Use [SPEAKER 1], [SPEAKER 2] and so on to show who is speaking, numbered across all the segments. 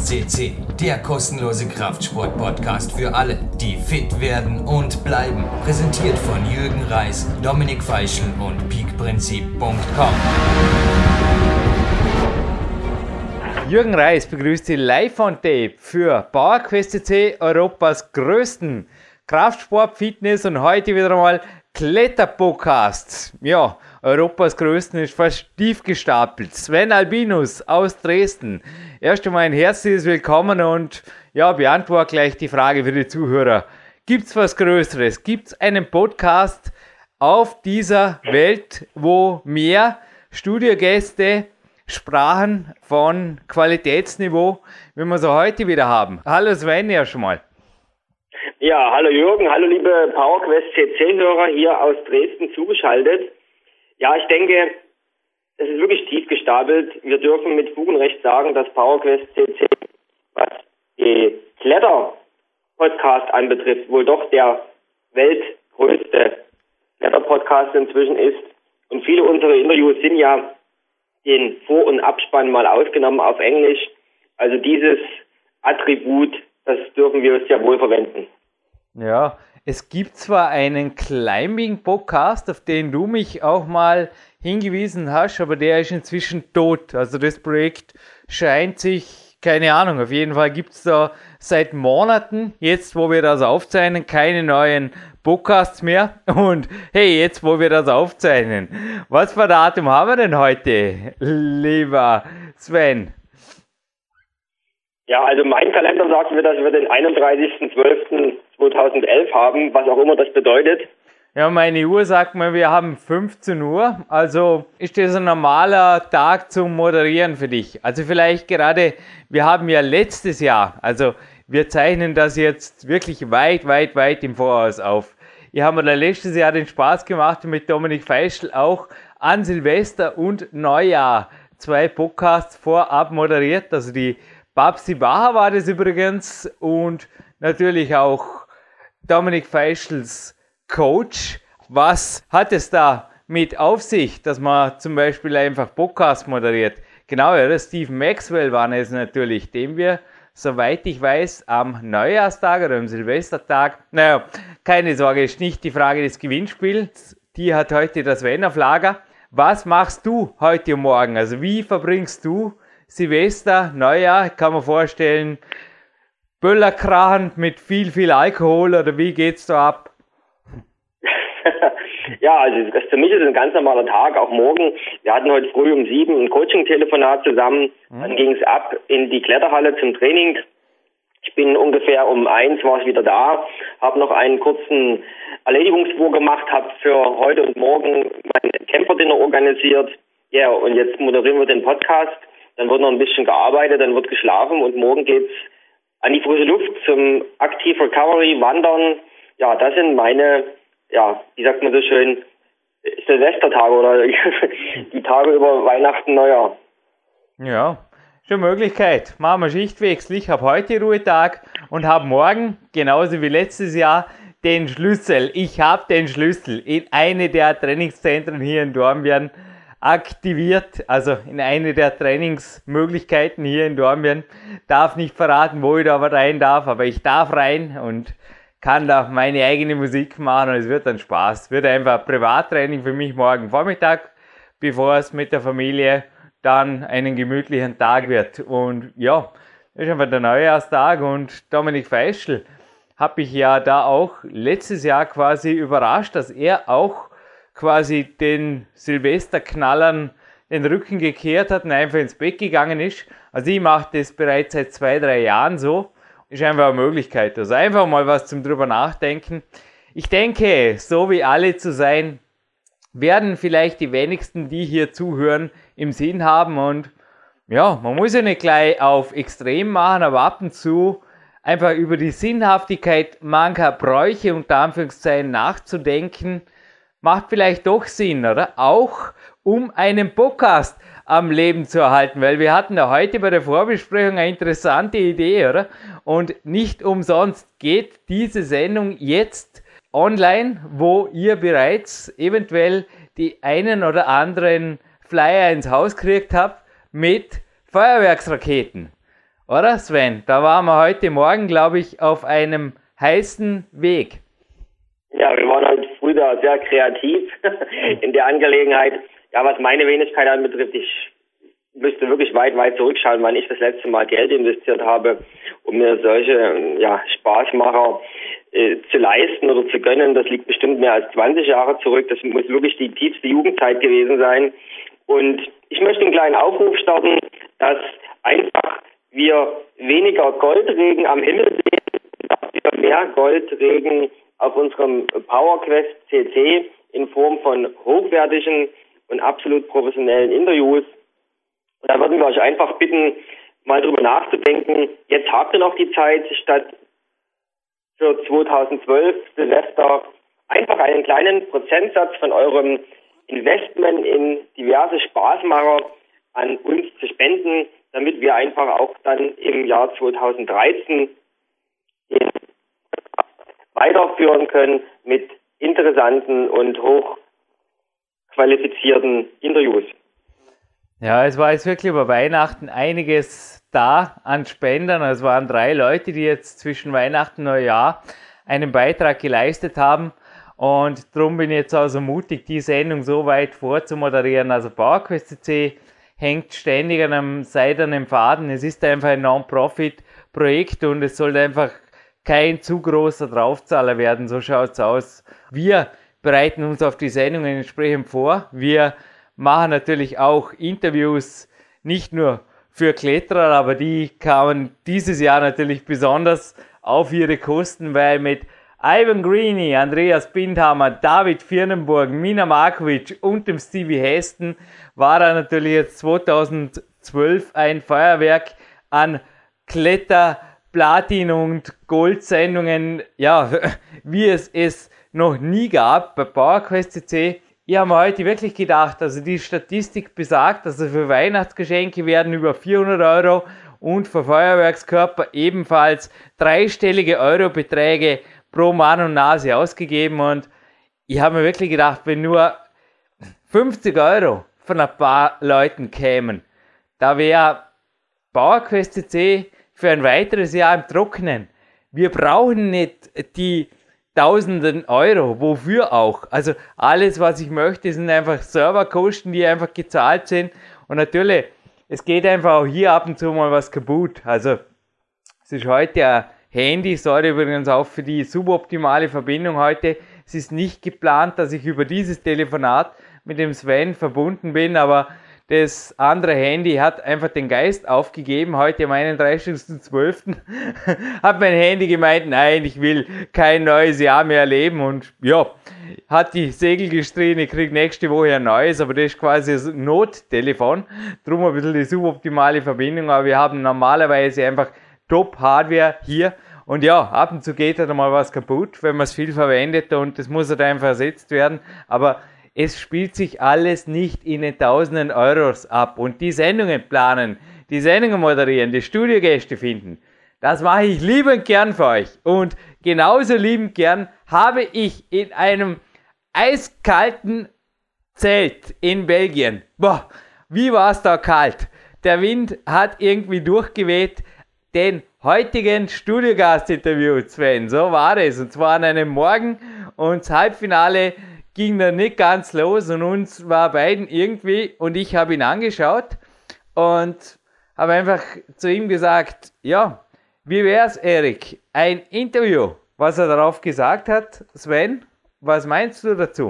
[SPEAKER 1] CC, der kostenlose Kraftsport-Podcast für alle, die fit werden und bleiben. Präsentiert von Jürgen Reis, Dominik Feischl und peakprinzip.com.
[SPEAKER 2] Jürgen Reis begrüßt Sie live on tape für PowerQuest CC, Europas größten Kraftsport, Fitness und heute wieder einmal Kletterpodcast. Ja, Europas größten ist fast tief gestapelt. Sven Albinus aus Dresden. Erst einmal ein herzliches Willkommen und ja, beantworte gleich die Frage für die Zuhörer. Gibt's was Größeres? Gibt's einen Podcast auf dieser Welt, wo mehr Studiogäste sprachen von Qualitätsniveau, wie wir so heute wieder haben? Hallo Sven, erst einmal.
[SPEAKER 3] Ja, hallo Jürgen, hallo liebe PowerQuest CC-Hörer hier aus Dresden zugeschaltet. Ja, ich denke, es ist wirklich tief gestapelt. Wir dürfen mit Fug und Recht sagen, dass PowerQuest CC, was die Kletter-Podcast anbetrifft, wohl doch der weltgrößte Kletter-Podcast inzwischen ist. Und viele unserer Interviews sind ja den Vor- und Abspann mal ausgenommen auf Englisch. Also dieses Attribut, das dürfen wir sehr wohl verwenden.
[SPEAKER 2] Ja, es gibt zwar einen Climbing-Podcast, auf den du mich auch mal hingewiesen hast, aber der ist inzwischen tot. Also das Projekt scheint sich, keine Ahnung, auf jeden Fall gibt es da seit Monaten, jetzt wo wir das aufzeichnen, keine neuen Podcasts mehr. Und hey, jetzt wo wir das aufzeichnen, was für Datum haben wir denn heute, lieber Sven?
[SPEAKER 3] Ja, also mein Kalender sagt mir, dass wir den 31.12.2011 haben, was auch immer das bedeutet.
[SPEAKER 2] Ja, meine Uhr sagt mir, wir haben 15 Uhr, also ist das ein normaler Tag zum Moderieren für dich? Also vielleicht gerade, wir haben ja letztes Jahr, also wir zeichnen das jetzt wirklich weit im Voraus auf. Ich habe mir da letztes Jahr den Spaß gemacht mit Dominik Feischl auch an Silvester und Neujahr 2 Podcasts vorab moderiert, also die Babsi Baha war das übrigens und natürlich auch Dominik Feischls Coach. Was hat es da mit auf sich, dass man zum Beispiel einfach Podcast moderiert? Genau, ja, Stephen Maxwell war es natürlich, den wir, soweit ich weiß, am Neujahrstag oder am Silvestertag, naja, keine Sorge, ist nicht die Frage des Gewinnspiels, die hat heute das Sven auf Lager. Was machst du heute und morgen? Also wie verbringst du Silvester, Neujahr, kann man vorstellen, Böllerkrachen mit viel Alkohol oder wie geht's da ab?
[SPEAKER 3] Ja, also für mich ist es ein ganz normaler Tag, auch morgen. Wir hatten heute früh um 7 ein Coaching-Telefonat zusammen, dann ging es ab in die Kletterhalle zum Training. Ich bin ungefähr um 1 war ich wieder da, habe noch einen kurzen Erledigungswurf gemacht, habe für heute und morgen mein Camperdinner organisiert. Ja, und jetzt moderieren wir den Podcast. Dann wird noch ein bisschen gearbeitet, dann wird geschlafen und morgen geht's an die frische Luft zum Active Recovery, Wandern. Ja, das sind meine, ja, wie sagt man so schön, Silvestertage oder die Tage über Weihnachten, Neujahr.
[SPEAKER 2] Ja, schon Möglichkeit. Machen wir Schichtwechsel. Ich habe heute Ruhetag und habe morgen, genauso wie letztes Jahr, den Schlüssel. Ich habe den Schlüssel in eine der Trainingszentren hier in Dornbirn aktiviert, also in eine der Trainingsmöglichkeiten hier in Dornbirn. Darf nicht verraten, wo ich da rein darf, aber ich darf rein und kann da meine eigene Musik machen und es wird dann Spaß. Es wird einfach Privattraining für mich morgen Vormittag, bevor es mit der Familie dann einen gemütlichen Tag wird. Und ja, das ist einfach der Neujahrstag und Dominik Feischl habe ich ja da auch letztes Jahr quasi überrascht, dass er auch quasi den Silvesterknallern den Rücken gekehrt hat und einfach ins Bett gegangen ist. Also ich mache das bereits seit 2-3 Jahren so. Ist einfach eine Möglichkeit. Also einfach mal was zum drüber nachdenken. Ich denke, so wie alle zu sein, werden vielleicht die wenigsten, die hier zuhören, im Sinn haben. Und ja, man muss ja nicht gleich auf extrem machen, aber ab und zu einfach über die Sinnhaftigkeit mancher Bräuche unter Anführungszeichen nachzudenken, macht vielleicht doch Sinn, oder? Auch um einen Podcast am Leben zu erhalten, weil wir hatten ja heute bei der Vorbesprechung eine interessante Idee, oder? Und nicht umsonst geht diese Sendung jetzt online, wo ihr bereits eventuell die einen oder anderen Flyer ins Haus gekriegt habt mit Feuerwerksraketen. Oder Sven? Da waren wir heute Morgen, glaube ich, auf einem heißen Weg.
[SPEAKER 3] Ja, wir waren heute früh da sehr kreativ in der Angelegenheit. Ja, was meine Wenigkeit anbetrifft, ich müsste wirklich weit zurückschauen, wann ich das letzte Mal Geld investiert habe, um mir solche Spaßmacher zu leisten oder zu gönnen. Das liegt bestimmt mehr als 20 Jahre zurück. Das muss wirklich die tiefste Jugendzeit gewesen sein. Und ich möchte einen kleinen Aufruf starten, dass einfach wir weniger Goldregen am Himmel sehen, dass wir mehr Goldregen auf unserem PowerQuest CC in Form von hochwertigen und absolut professionellen Interviews. Und da würden wir euch einfach bitten, mal drüber nachzudenken. Jetzt habt ihr noch die Zeit, statt für 2012 Silvester einfach einen kleinen Prozentsatz von eurem Investment in diverse Spaßmacher an uns zu spenden, damit wir einfach auch dann im Jahr 2013 weiterführen können mit interessanten und hochqualifizierten Interviews.
[SPEAKER 2] Ja, es war jetzt wirklich über Weihnachten einiges da an Spendern. Es waren 3 Leute, die jetzt zwischen Weihnachten und Neujahr einen Beitrag geleistet haben. Und darum bin ich jetzt auch so mutig, die Sendung so weit vorzumoderieren. Also PowerQuest CC hängt ständig an einem seidenen Faden. Es ist einfach ein Non-Profit-Projekt und es sollte einfach kein zu großer Draufzahler werden. So schaut es aus. Wir bereiten uns auf die Sendungen entsprechend vor. Wir machen natürlich auch Interviews, nicht nur für Kletterer, aber die kamen dieses Jahr natürlich besonders auf ihre Kosten, weil mit Ivan Greeny, Andreas Bindhammer, David Firnenburg, Mina Markovic und dem Stevie Heston war er natürlich jetzt 2012 ein Feuerwerk an Kletter, Platin- und Gold-Sendungen, ja, wie es noch nie gab bei PowerQuest CC. Ich habe mir heute wirklich gedacht, also die Statistik besagt, also für Weihnachtsgeschenke werden über 400 € und für Feuerwerkskörper ebenfalls dreistellige Eurobeträge pro Mann und Nase ausgegeben und ich habe mir wirklich gedacht, wenn nur 50 € von ein paar Leuten kämen, da wäre PowerQuest CC für ein weiteres Jahr im Trockenen. Wir brauchen nicht die Tausenden Euro, wofür auch. Also alles, was ich möchte, sind einfach Serverkosten, die einfach gezahlt sind. Und natürlich, es geht einfach auch hier ab und zu mal was kaputt. Also es ist heute ein Handy, sorry übrigens auch für die suboptimale Verbindung heute. Es ist nicht geplant, dass ich über dieses Telefonat mit dem Sven verbunden bin, aber das andere Handy hat einfach den Geist aufgegeben. Heute am 31.12. hat mein Handy gemeint, nein, ich will kein neues Jahr mehr erleben. Und ja, hat die Segel gestrichen, ich kriege nächste Woche ein neues, aber das ist quasi ein Nottelefon. Drum ein bisschen die suboptimale Verbindung, aber wir haben normalerweise einfach Top-Hardware hier. Und ja, ab und zu geht halt mal was kaputt, wenn man es viel verwendet und das muss halt einfach ersetzt werden. Aber es spielt sich alles nicht in den Tausenden Euros ab. Und die Sendungen planen, die Sendungen moderieren, die Studiogäste finden, das mache ich liebend gern für euch. Und genauso liebend gern habe ich in einem eiskalten Zelt in Belgien. Boah, wie war es da kalt. Der Wind hat irgendwie durchgeweht. Den heutigen Studiogast-Interview, Sven, so war es. Und zwar an einem Morgen und das Halbfinale ging dann nicht ganz los und uns war beiden irgendwie und ich habe ihn angeschaut und habe einfach zu ihm gesagt, ja, wie wär's, Erik? Ein Interview. Was er darauf gesagt hat, Sven, was meinst du dazu?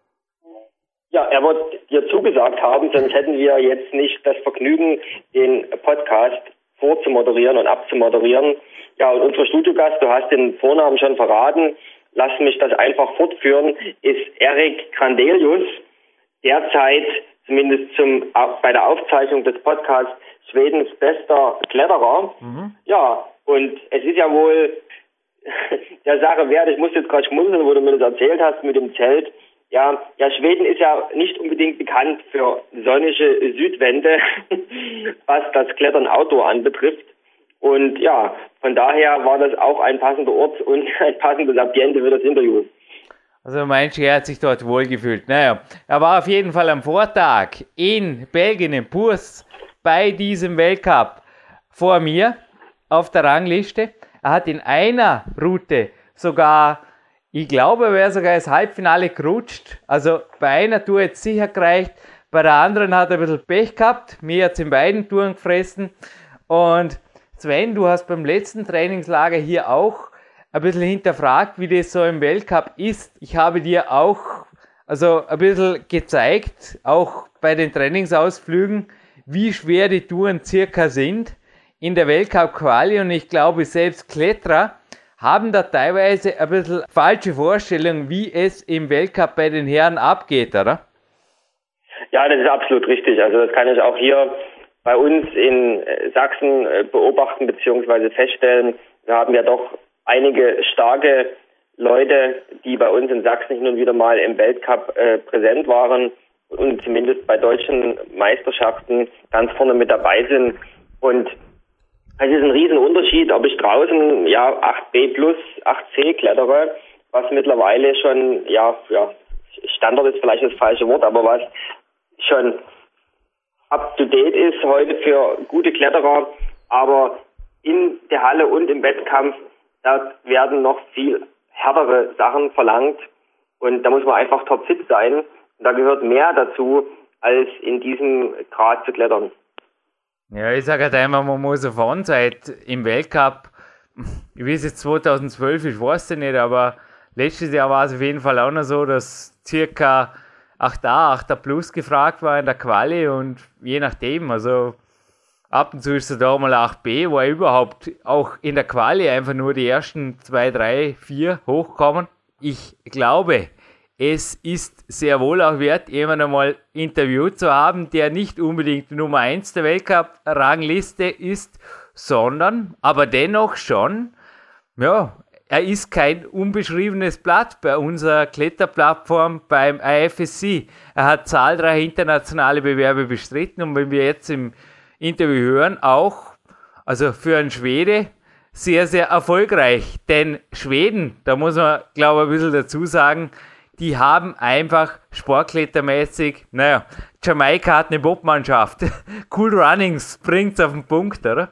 [SPEAKER 3] Ja, er wird dir zugesagt haben, sonst hätten wir jetzt nicht das Vergnügen, den Podcast vorzumoderieren und abzumoderieren. Ja, und unser Studiogast, du hast den Vornamen schon verraten, lass mich das einfach fortführen, ist Erik Grandelius, derzeit zumindest bei der Aufzeichnung des Podcasts Schwedens bester Kletterer. Ja, und es ist ja wohl der Sache wert, ich muss jetzt gerade schmunzeln, wo du mir das erzählt hast mit dem Zelt. Ja, Schweden ist ja nicht unbedingt bekannt für sonnige Südwände, was das Klettern Outdoor anbetrifft. Und ja, von daher war das auch ein passender Ort und ein passendes Ambiente für das Interview.
[SPEAKER 2] Also meinst du, er hat sich dort wohlgefühlt? Naja, er war auf jeden Fall am Vortag in Belgien, in Puurs, bei diesem Weltcup vor mir. auf der Rangliste. Er hat in einer Route sogar, ich glaube, er wäre sogar ins Halbfinale gerutscht. Also bei einer Tour jetzt sicher gereicht, bei der anderen hat er ein bisschen Pech gehabt. Mir hat es in beiden Touren gefressen. Und Sven, du hast beim letzten Trainingslager hier auch ein bisschen hinterfragt, wie das so im Weltcup ist. Ich habe dir auch ein bisschen gezeigt, auch bei den Trainingsausflügen, wie schwer die Touren circa sind in der Weltcup-Quali. Und ich glaube, selbst Kletterer haben da teilweise ein bisschen falsche Vorstellungen, wie es im Weltcup bei den Herren abgeht, oder?
[SPEAKER 3] Ja, das ist absolut richtig. Also das kann ich auch hier bei uns in Sachsen beobachten bzw. feststellen. Wir haben ja doch einige starke Leute, die bei uns in Sachsen hin und wieder mal im Weltcup präsent waren und zumindest bei deutschen Meisterschaften ganz vorne mit dabei sind. Und es ist ein Riesenunterschied, ob ich draußen 8B plus 8C klettere, was mittlerweile schon, Standard ist vielleicht das falsche Wort, aber was schon up to date ist heute für gute Kletterer, aber in der Halle und im Wettkampf, da werden noch viel härtere Sachen verlangt und da muss man einfach topfit sein und da gehört mehr dazu, als in diesem Grad zu klettern.
[SPEAKER 2] Ja, ich sage halt einmal, man muss auf Onside im Weltcup, ich weiß jetzt 2012, ich weiß es nicht, aber letztes Jahr war es auf jeden Fall auch noch so, dass circa 8A plus gefragt war in der Quali und je nachdem, also ab und zu ist es da mal 8B, wo überhaupt auch in der Quali einfach nur die ersten 2, 3, 4 hochkommen. Ich glaube, es ist sehr wohl auch wert, jemanden einmal interviewt zu haben, der nicht unbedingt Nummer 1 der Weltcup-Rangliste ist, sondern aber dennoch schon, er ist kein unbeschriebenes Blatt bei unserer Kletterplattform beim IFSC. Er hat zahlreiche internationale Bewerbe bestritten und wenn wir jetzt im Interview hören, auch, also für einen Schwede, sehr, sehr erfolgreich. Denn Schweden, da muss man, glaube ich, ein bisschen dazu sagen, die haben einfach sportklettermäßig, Jamaika hat eine Bobmannschaft. Cool Runnings bringt's auf den Punkt, oder?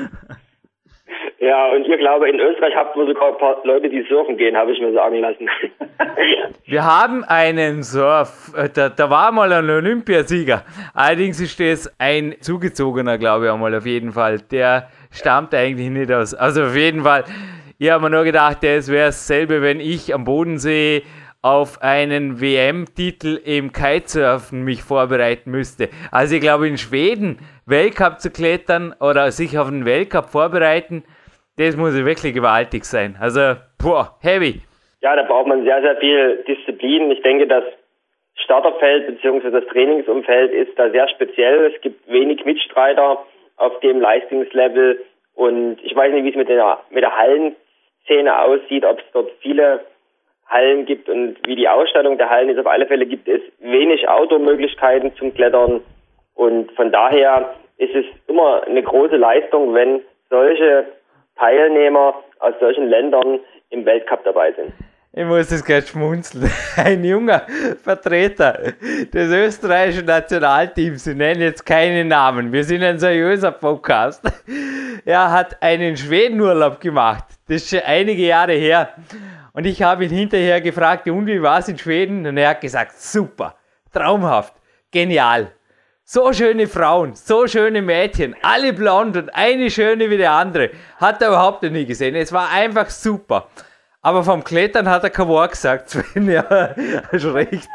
[SPEAKER 3] Ja, und ihr glaube, in Österreich habt ihr sogar ein paar Leute, die surfen gehen, habe ich mir sagen lassen.
[SPEAKER 2] Wir haben einen Surf, da war mal ein Olympiasieger. Allerdings ist das ein Zugezogener, glaube ich, einmal auf jeden Fall. Der stammt eigentlich nicht aus. Also auf jeden Fall, ich habe mir nur gedacht, das wäre dasselbe, wenn ich am Bodensee auf einen WM-Titel im Kitesurfen mich vorbereiten müsste. Also ich glaube, in Schweden Weltcup zu klettern oder sich auf einen Weltcup vorbereiten, das muss wirklich gewaltig sein. Also, heavy.
[SPEAKER 3] Ja, da braucht man sehr, sehr viel Disziplin. Ich denke, das Starterfeld bzw. das Trainingsumfeld ist da sehr speziell. Es gibt wenig Mitstreiter auf dem Leistungslevel und ich weiß nicht, wie es mit der Hallenszene aussieht, ob es dort viele Hallen gibt und wie die Ausstattung der Hallen ist. Auf alle Fälle gibt es wenig Outdoor-Möglichkeiten zum Klettern und von daher ist es immer eine große Leistung, wenn solche Teilnehmer aus solchen Ländern im Weltcup dabei sind.
[SPEAKER 2] Ich muss das gerade schmunzeln. Ein junger Vertreter des österreichischen Nationalteams, ich nenne jetzt keinen Namen, wir sind ein seriöser Podcast, er hat einen Schwedenurlaub gemacht. Das ist schon einige Jahre her. Und ich habe ihn hinterher gefragt, und wie war es in Schweden? Und er hat gesagt, super, traumhaft, genial. So schöne Frauen, so schöne Mädchen, alle blond und eine schöne wie die andere. Hat er überhaupt noch nie gesehen. Es war einfach super. Aber vom Klettern hat er kein Wort gesagt. Sven, ja, hast recht.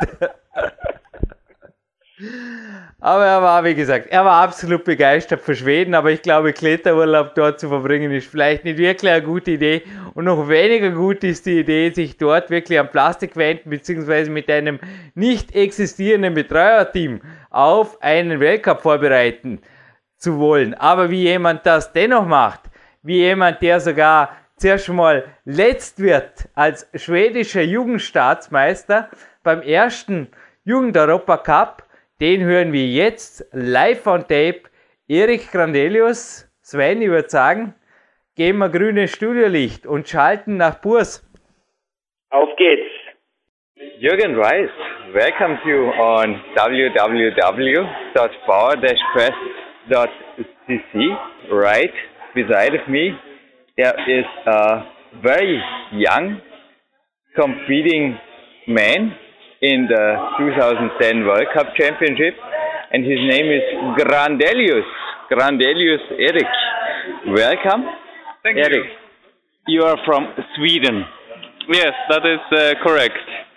[SPEAKER 2] Aber er war, wie gesagt, absolut begeistert für Schweden, aber ich glaube, Kletterurlaub dort zu verbringen ist vielleicht nicht wirklich eine gute Idee und noch weniger gut ist die Idee, sich dort wirklich an Plastikwänden bzw. mit einem nicht existierenden Betreuerteam auf einen Weltcup vorbereiten zu wollen. Aber wie jemand das dennoch macht, wie jemand, der sogar zuerst mal letzt wird als schwedischer Jugendstaatsmeister beim ersten Jugend-Europacup, den hören wir jetzt live on tape. Erik Grandelius, Sven, ich würde sagen, geben wir grünes Studiolicht und schalten nach Puurs.
[SPEAKER 3] Auf geht's.
[SPEAKER 4] Jürgen Reis welcomes you on www.power-quest.cc right beside of me, there is a very young competing man in the 2010 World Cup Championship, and his name is Grandelius Erik. Welcome.
[SPEAKER 5] Thank
[SPEAKER 4] Erik. You are from Sweden.
[SPEAKER 5] Yes, that is correct.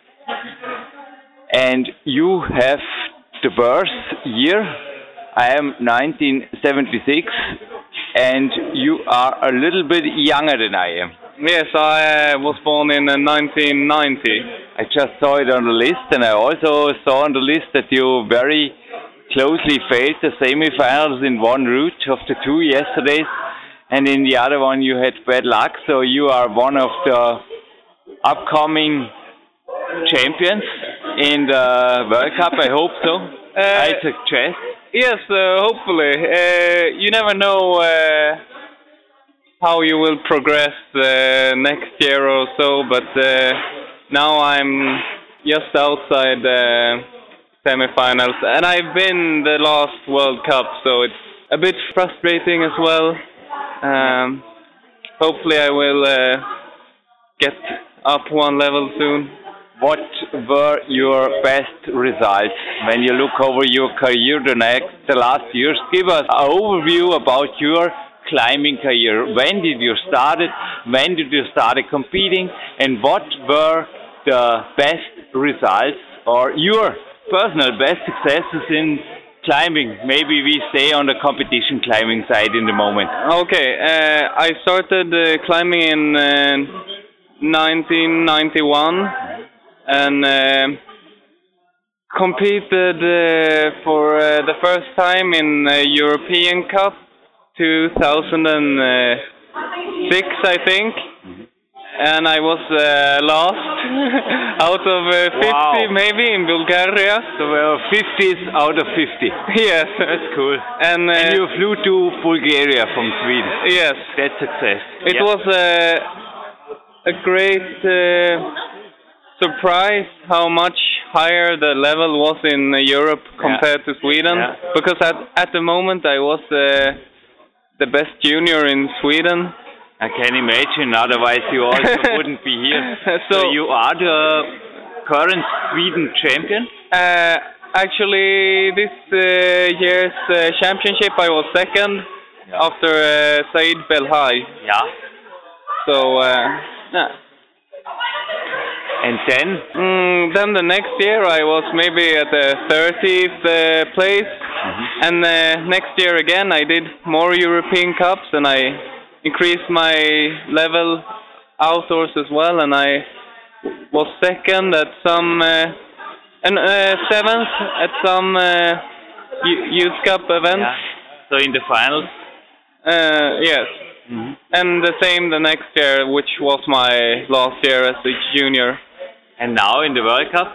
[SPEAKER 4] And you have the birth year. I am 1976, and you are a little bit younger than I am.
[SPEAKER 5] Yes, I was born in 1990.
[SPEAKER 4] I just saw it on the list, and I also saw on the list that you very closely faced the semi-finals in one route of the two yesterdays, and in the other one you had bad luck, so you are one of the upcoming champions in the World Cup, I hope so. I suggest.
[SPEAKER 5] Yes, hopefully. You never know how you will progress next year or so, but now I'm just outside the semi-finals, and I've been the last World Cup, so it's a bit frustrating as well. Hopefully I will get up one level soon.
[SPEAKER 4] What were your best results when you look over your career the last years? Give us an overview about your climbing career. When did you start it? When did you start competing? And what were the best results or your personal best successes in climbing? Maybe we stay on the competition climbing side in the moment.
[SPEAKER 5] Okay, I started climbing in 1991 and competed for the first time in European Cup 2006, I think. And I was last out of 50,
[SPEAKER 4] wow,
[SPEAKER 5] maybe, in Bulgaria.
[SPEAKER 4] So 50s out of 50.
[SPEAKER 5] Yes.
[SPEAKER 4] That's cool.
[SPEAKER 5] And
[SPEAKER 4] you flew to Bulgaria from Sweden.
[SPEAKER 5] Yes.
[SPEAKER 4] That's success.
[SPEAKER 5] It was a great surprise how much higher the level was in Europe compared to Sweden.
[SPEAKER 4] Yeah.
[SPEAKER 5] Because at the moment I was the best junior in Sweden.
[SPEAKER 4] I can imagine, otherwise you also wouldn't be here. So you are the current Sweden champion?
[SPEAKER 5] Actually, this year's championship I was second after Said Belhaj.
[SPEAKER 4] Yeah.
[SPEAKER 5] So,
[SPEAKER 4] And then?
[SPEAKER 5] Then the next year I was maybe at the 30th place. Mm-hmm. And next year again I did more European Cups and I increased my level outdoors as well, and I was second at some and seventh at some youth cup events.
[SPEAKER 4] Yeah. So in the finals?
[SPEAKER 5] Yes. Mm-hmm. And the same the next year, which was my last year as a junior.
[SPEAKER 4] And now in the World Cup?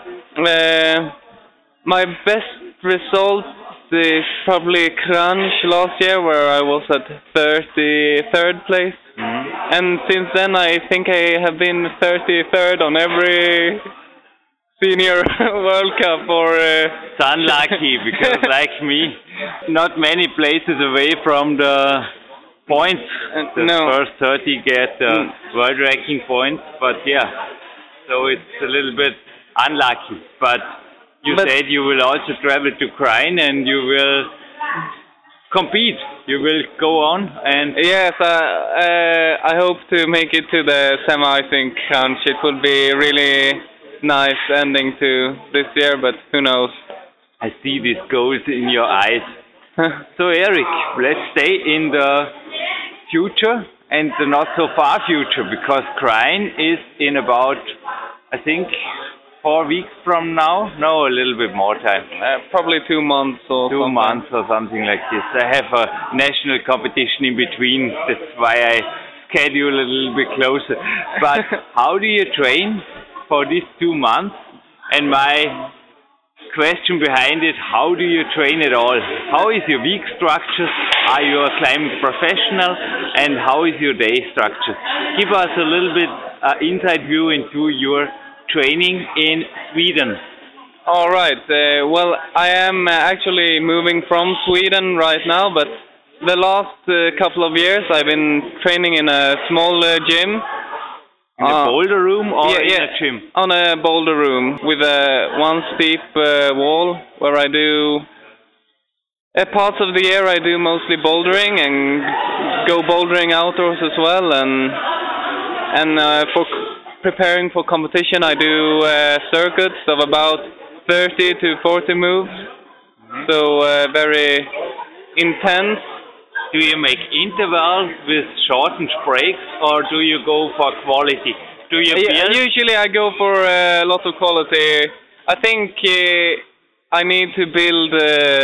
[SPEAKER 5] My best result is probably Crunch last year, where I was at 33rd place. Mm-hmm. And since then I think I have been 33rd on every senior World Cup. Or
[SPEAKER 4] it's unlucky, because like me, not many places away from the points. The first 30 get world ranking points, but yeah, so it's a little bit unlucky. But you said you will also travel to Krain and you will compete. You will go on and...
[SPEAKER 5] Yes, I hope to make it to the semi-think Crunch. It would be really nice ending to this year, but who knows.
[SPEAKER 4] I see these goals in your eyes. So Erik, let's stay in the future and the not so far future, because Krain is in about, I think, 4 weeks from now? No, a little bit more time.
[SPEAKER 5] Probably 2 months or
[SPEAKER 4] 2 months or something like this. I have a national competition in between. That's why I schedule a little bit closer. But how do you train for these 2 months? And my question behind it, how do you train at all? How is your week structure? Are you a climbing professional? And how is your day structure? Give us a little bit inside view into your training in Sweden.
[SPEAKER 5] All right. Well, I am actually moving from Sweden right now, but the last couple of years I've been training in a small gym.
[SPEAKER 4] In a boulder room or in a gym?
[SPEAKER 5] On a boulder room with one steep wall where I do... parts of the year I do mostly bouldering and go bouldering outdoors as well, and for preparing for competition I do circuits of about 30 to 40 moves, so very intense.
[SPEAKER 4] Do you make intervals with shortened breaks, or do you go for quality? Do you build?
[SPEAKER 5] Usually I go for a lot of quality. I think I need to build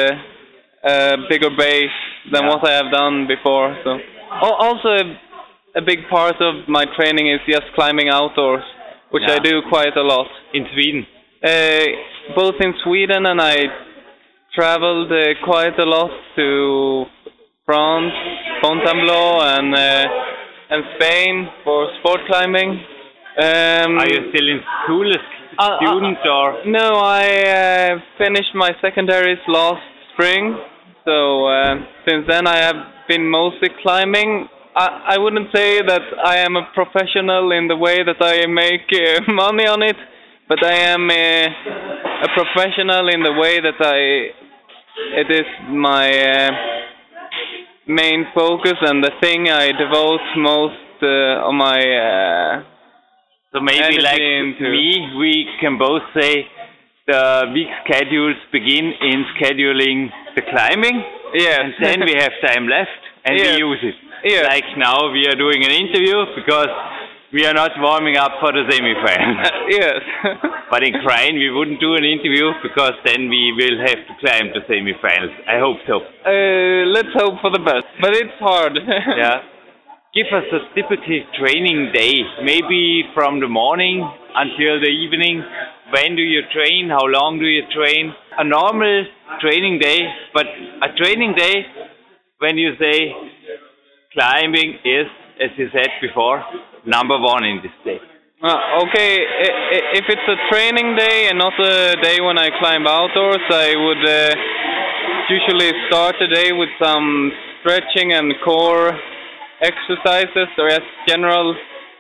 [SPEAKER 5] a bigger base than what I have done before. So, also a big part of my training is just climbing outdoors, which I do quite a lot.
[SPEAKER 4] In Sweden?
[SPEAKER 5] Both in Sweden, and I traveled quite a lot to France, Fontainebleau, and Spain for sport climbing.
[SPEAKER 4] Are you still in school as student or?
[SPEAKER 5] No, I finished my secondaries last spring. So since then I have been mostly climbing. I wouldn't say that I am a professional in the way that I make money on it, but I am a professional in the way that it is my main focus and the thing I devote most of my
[SPEAKER 4] so maybe like me, we can both say the week schedules begin in scheduling the climbing, and then we have time left and we use it. Like now we are doing an interview because we are not warming up for the semi-final. But in Krain we wouldn't do an interview because then we will have to climb the semi-finals. I hope so.
[SPEAKER 5] Let's hope for the best, but it's hard.
[SPEAKER 4] Give us a typical training day, maybe from the morning until the evening. When do you train? How long do you train? A normal training day, but a training day when you say climbing is, as you said before, number one in this day.
[SPEAKER 5] Okay, if it's a training day and not a day when I climb outdoors, I would usually start the day with some stretching and core exercises, or just general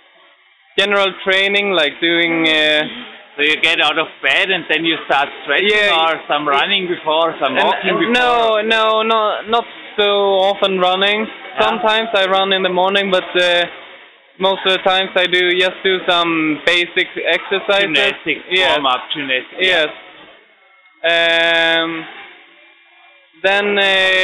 [SPEAKER 5] training, like doing...
[SPEAKER 4] So you get out of bed and then you start stretching, or some running before, some walking before?
[SPEAKER 5] No, not so often running. Sometimes I run in the morning, but most of the times I just do some basic exercises.
[SPEAKER 4] Gymnastics, warm-up gymnastics.
[SPEAKER 5] Yes. Then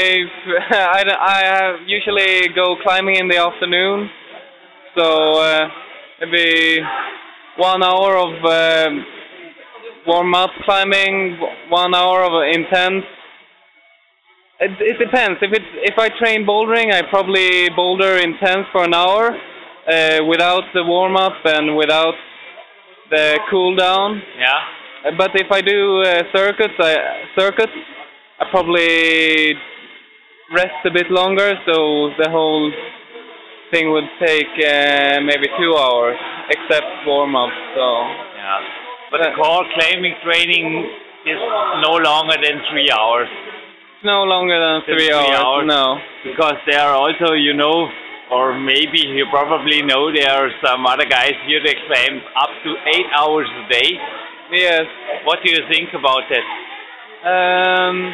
[SPEAKER 5] I usually go climbing in the afternoon, so maybe 1 hour of warm-up climbing, 1 hour of intense. It depends. If I train bouldering, I probably boulder intense for an hour without the warm-up and without the cool-down. But if I do circuits, I probably rest a bit longer, so the whole thing would take maybe 2 hours, except warm-up. So.
[SPEAKER 4] But the core climbing training is no longer than 3 hours.
[SPEAKER 5] No longer than 3 hours, no.
[SPEAKER 4] Because there are also, you know, or maybe you probably know, there are some other guys here that climb up to 8 hours a day.
[SPEAKER 5] Yes.
[SPEAKER 4] What do you think about that?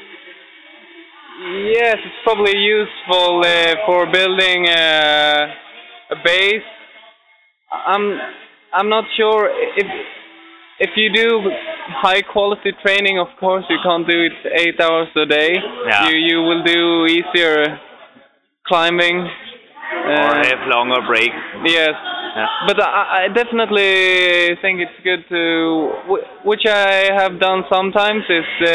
[SPEAKER 5] Yes, it's probably useful for building a base. I'm not sure if you do high quality training. Of course, you can't do it 8 hours a day. You will do easier climbing
[SPEAKER 4] or have longer breaks.
[SPEAKER 5] Yes. But I definitely think it's good to, which I have done sometimes, is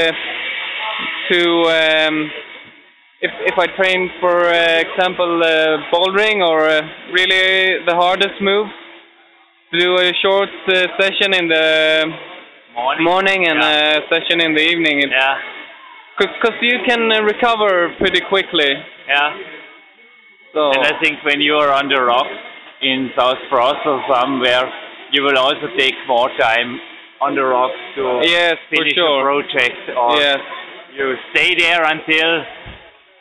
[SPEAKER 5] to if I train, for example, bouldering or really the hardest move, to do a short session in the morning and a session in the evening. Because you can recover pretty quickly. So.
[SPEAKER 4] And I think when you are on the rocks in South Frost or somewhere, you will also take more time on the rocks to finish the project, or you stay there until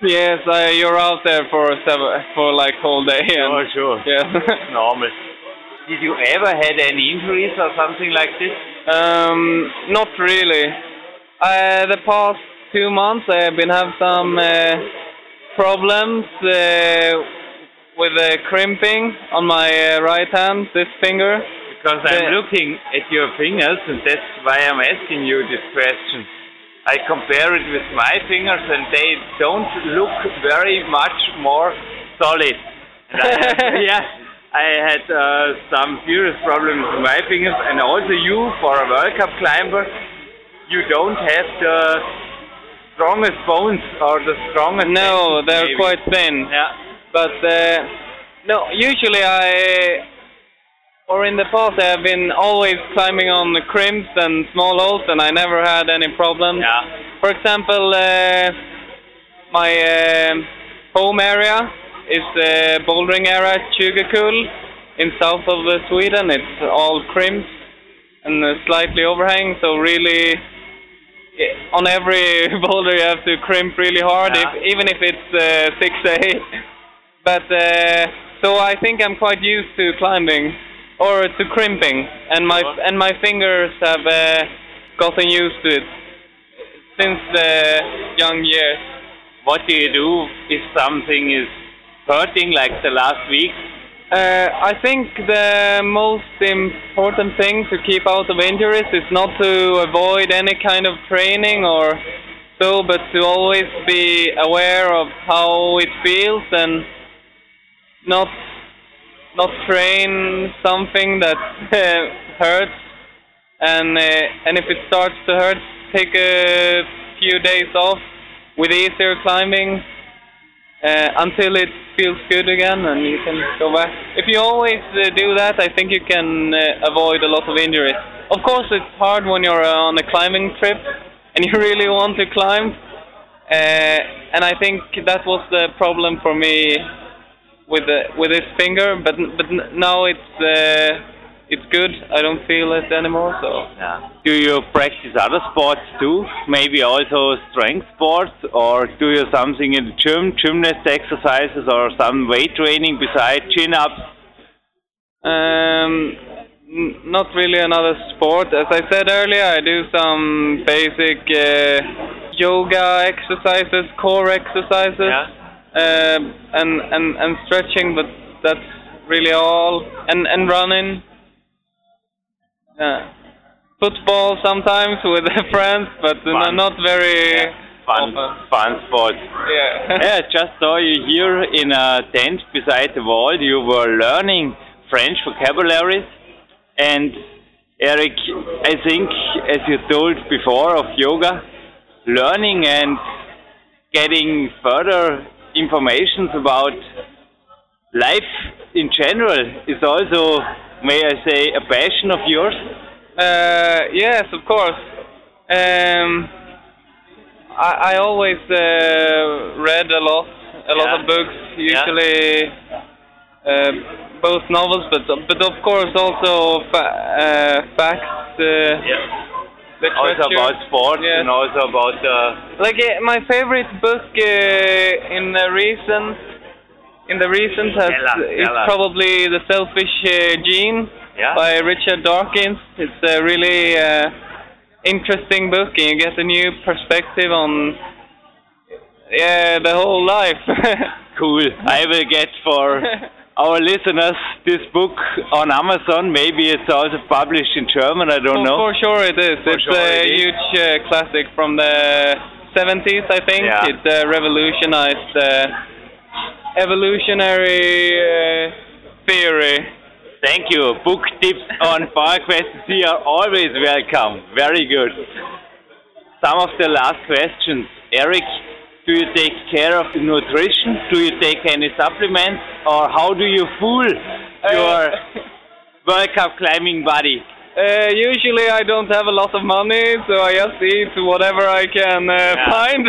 [SPEAKER 5] Yes, you're out there for like whole day. And,
[SPEAKER 4] sure.
[SPEAKER 5] Yeah.
[SPEAKER 4] Normal. Did you ever had any injuries or something like this?
[SPEAKER 5] Not really. The past 2 months I've been having some problems with crimping on my right hand, this finger.
[SPEAKER 4] Because I'm looking at your fingers, and that's why I'm asking you this question. I compare it with my fingers, and they don't look very much more solid. And I had some serious problems with my fingers, and also you, for a World Cup climber, you don't have the strongest bones or the strongest.
[SPEAKER 5] No, they're
[SPEAKER 4] maybe.
[SPEAKER 5] quite thin.
[SPEAKER 4] Yeah.
[SPEAKER 5] But no, usually in the past I have been always climbing on the crimps and small holes, and I never had any problems.
[SPEAKER 4] Yeah.
[SPEAKER 5] For example, my home area is the bouldering area at Tjugekul in south of Sweden. It's all crimps and slightly overhang, so really on every boulder you have to crimp really hard, even if it's 6 to 8. But so I think I'm quite used to climbing. Or to crimping, and my fingers have gotten used to it since the young years.
[SPEAKER 4] What do you do if something is hurting, like the last week?
[SPEAKER 5] I think the most important thing to keep out of injuries is not to avoid any kind of training or so, but to always be aware of how it feels and not train something that hurts, and if it starts to hurt, take a few days off with easier climbing until it feels good again, and you can go back. If you always do that, I think you can avoid a lot of injuries. Of course, it's hard when you're on a climbing trip and you really want to climb, and I think that was the problem for me with this finger, but now it's good. I don't feel it anymore. So.
[SPEAKER 4] Yeah. Do you practice other sports too? Maybe also strength sports, or do you something in the gym, gymnast exercises, or some weight training besides chin-ups?
[SPEAKER 5] Not really another sport. As I said earlier, I do some basic yoga exercises, core exercises.
[SPEAKER 4] Yeah.
[SPEAKER 5] And stretching, but that's really all. And running. Football sometimes with friends, but not very
[SPEAKER 4] fun sports.
[SPEAKER 5] Yeah.
[SPEAKER 4] Yeah, just saw you here in a tent beside the wall. You were learning French vocabularies, and Eric, I think, as you told before of yoga, learning and getting further information about life in general is also, may I say, a passion of yours?
[SPEAKER 5] Yes, of course. I always read a lot of books, usually both novels, but of course also facts.
[SPEAKER 4] Also about sports, and also about
[SPEAKER 5] my favorite book in the recent is probably The Selfish Gene by Richard Dawkins. It's a really interesting book, and you get a new perspective on the whole life.
[SPEAKER 4] Cool. I will get for our listeners this book on Amazon. Maybe it's also published in German, I don't know.
[SPEAKER 5] For sure it is. It's a huge classic from the 70s, I think.
[SPEAKER 4] Yeah.
[SPEAKER 5] It revolutionized evolutionary theory.
[SPEAKER 4] Thank you. Book tips on Far Questions here are always welcome. Very good. Some of the last questions. Eric, do you take care of nutrition? Do you take any supplements? Or how do you fool your World Cup climbing body?
[SPEAKER 5] Usually I don't have a lot of money, so I just eat whatever I can find.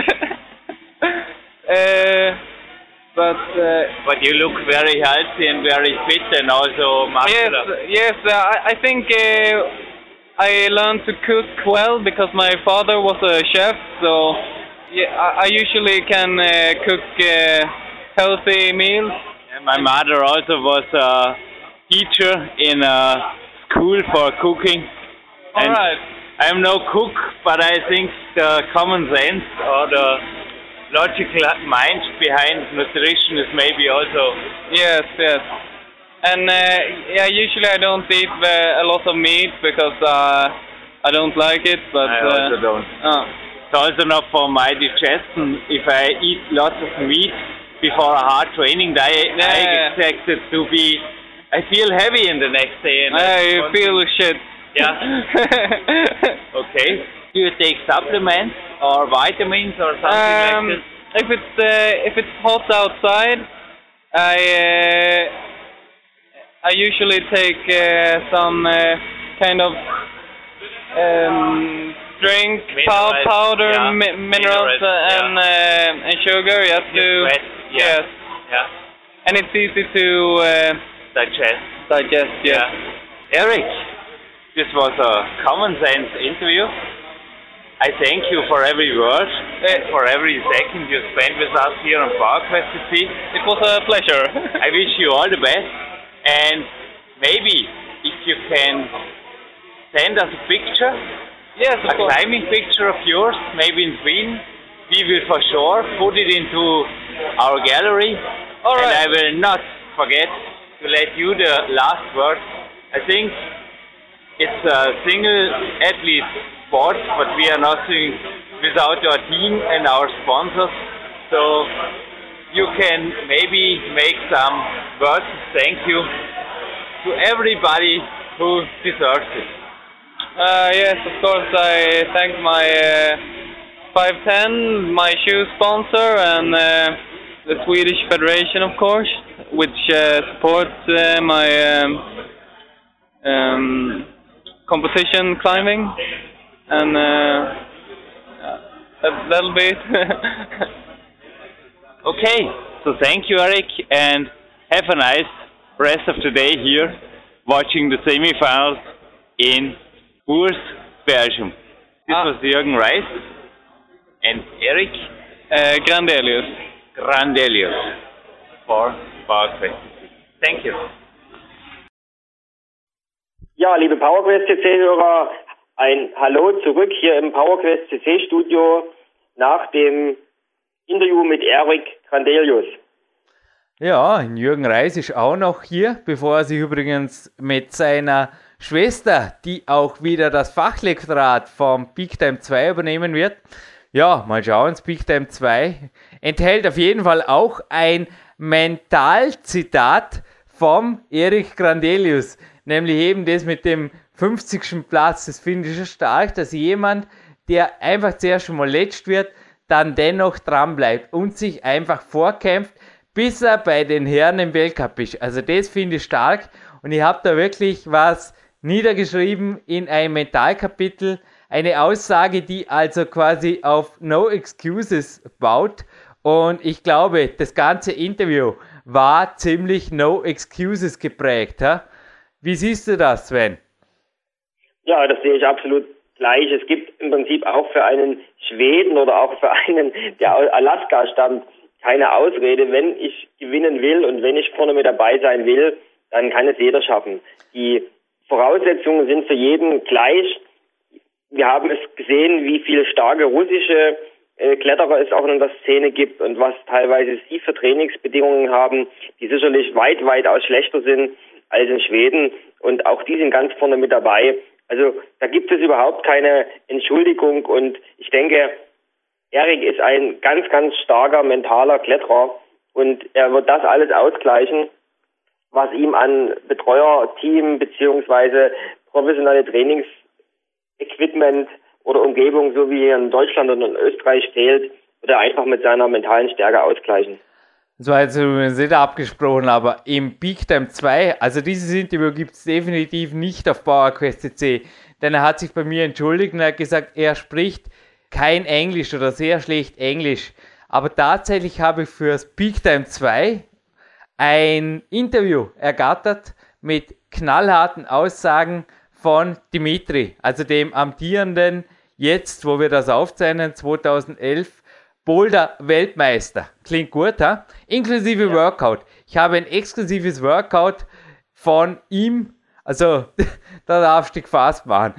[SPEAKER 4] But you look very healthy and very fit, and also muscular.
[SPEAKER 5] Yes. I think I learned to cook well because my father was a chef, so Yeah, I usually can cook healthy meals.
[SPEAKER 4] And my mother also was a teacher in a school for cooking.
[SPEAKER 5] All right.
[SPEAKER 4] I'm no cook, but I think the common sense or the logical mind behind nutrition is maybe also...
[SPEAKER 5] Yes. And usually I don't eat a lot of meat because I don't like it. But
[SPEAKER 4] I also don't. It's also not for my digestion. If I eat lots of meat before a hard training, I expect it to be... I feel heavy in the next day. And
[SPEAKER 5] I feel shit.
[SPEAKER 4] Yeah. Okay. Do you take supplements or vitamins or something like this?
[SPEAKER 5] If it's hot outside, I usually take some kind of drink, powder, minerals, and sugar. Yes. And it's easy to digest. Yes.
[SPEAKER 4] Eric, this was a common sense interview. I thank you for every word, for every second you spent with us here on PowerQuest CC.
[SPEAKER 5] It was a pleasure.
[SPEAKER 4] I wish you all the best, and maybe if you can send us a picture, a climbing picture of yours, maybe in Sweden, we will for sure put it into our gallery.
[SPEAKER 5] All right.
[SPEAKER 4] And I will not forget to let you the last word. I think it's a single athlete sport, but we are nothing without our team and our sponsors. So you can maybe make some words of thank you to everybody who deserves it.
[SPEAKER 5] Yes, of course. I thank my 510, my shoe sponsor, and the Swedish Federation, of course, which supports my competition climbing, and that'll be it.
[SPEAKER 4] Okay, so thank you, Eric, and have a nice rest of the day here, watching the semi-finals in Bourges, Belgium. This was Jürgen Reis and Eric Grandelius for PowerQuest. Thank you.
[SPEAKER 3] Ja, liebe PowerQuest CC-Hörer, ein Hallo zurück hier im PowerQuest CC-Studio nach dem Interview mit Eric Grandelius.
[SPEAKER 2] Ja, Jürgen Reis ist auch noch hier, bevor er sich übrigens mit seiner Schwester, die auch wieder das Fachlektorat vom Peak Time 2 übernehmen wird. Ja, mal schauen, das Peak Time 2 enthält auf jeden Fall auch ein Mentalzitat vom Eric Grandelius, nämlich eben das mit dem 50. Platz. Das finde ich schon stark, dass jemand, der einfach zuerst schon mal letzt wird, dann dennoch dran bleibt und sich einfach vorkämpft, bis er bei den Herren im Weltcup ist. Also das finde ich stark und ich habe da wirklich was niedergeschrieben in einem Mentalkapitel, eine Aussage, die also quasi auf No Excuses baut, und ich glaube, das ganze Interview war ziemlich No Excuses geprägt. Ha? Wie siehst du das, Sven?
[SPEAKER 3] Ja, das sehe ich absolut gleich. Es gibt im Prinzip auch für einen Schweden oder auch für einen, der aus Alaska stammt, keine Ausrede. Wenn ich gewinnen will und wenn ich vorne mit dabei sein will, dann kann es jeder schaffen. Die Voraussetzungen sind für jeden gleich. Wir haben es gesehen, wie viele starke russische Kletterer es auch in der Szene gibt und was teilweise sie für Trainingsbedingungen haben, die sicherlich weitaus schlechter sind als in Schweden, und auch die sind ganz vorne mit dabei. Also da gibt es überhaupt keine Entschuldigung, und ich denke, Eric ist ein ganz, ganz starker mentaler Kletterer und er wird das alles ausgleichen, was ihm an Betreuerteam beziehungsweise professionelle Trainingsequipment oder Umgebung, so wie hier in Deutschland und in Österreich fehlt, oder einfach mit seiner mentalen Stärke ausgleichen.
[SPEAKER 2] Das war jetzt übrigens nicht abgesprochen, aber im Peak Time 2, also dieses Interview gibt es definitiv nicht auf PowerQuest CC, denn er hat sich bei mir entschuldigt und er hat gesagt, er spricht kein Englisch oder sehr schlecht Englisch. Aber tatsächlich habe ich für das Peak Time 2 ein Interview ergattert mit knallharten Aussagen von Dimitri, also dem amtierenden, jetzt, wo wir das aufzeichnen, 2011 Boulder-Weltmeister. Klingt gut, ha? Inklusive Workout. Ich habe ein exklusives Workout von ihm. Also, da darfst du dich fast machen.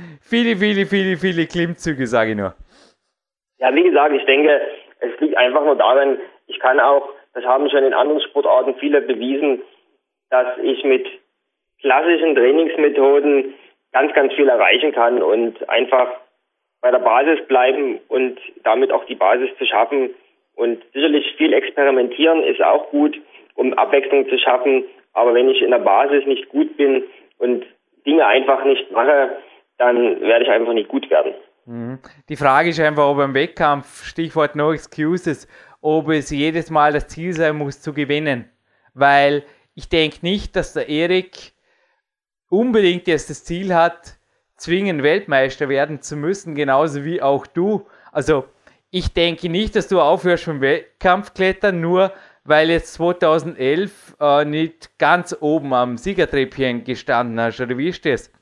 [SPEAKER 2] Viele Klimmzüge, sage ich nur.
[SPEAKER 3] Ja, wie gesagt, ich denke, es liegt einfach nur daran, ich kann auch, das haben schon in anderen Sportarten viele bewiesen, dass ich mit klassischen Trainingsmethoden ganz viel erreichen kann und einfach bei der Basis bleiben und damit auch die Basis zu schaffen. Und sicherlich viel experimentieren ist auch gut, um Abwechslung zu schaffen. Aber wenn ich in der Basis nicht gut bin und Dinge einfach nicht mache, dann werde ich einfach nicht gut werden.
[SPEAKER 2] Die Frage ist einfach, ob im Wettkampf, Stichwort No Excuses, ob es jedes Mal das Ziel sein muss, zu gewinnen. Weil ich denke nicht, dass der Erik unbedingt jetzt das Ziel hat, zwingend Weltmeister werden zu müssen, genauso wie auch du. Also ich denke nicht, dass du aufhörst vom Wettkampfklettern, nur weil jetzt 2011 nicht ganz oben am Siegertreppchen gestanden hast, oder wie ist das?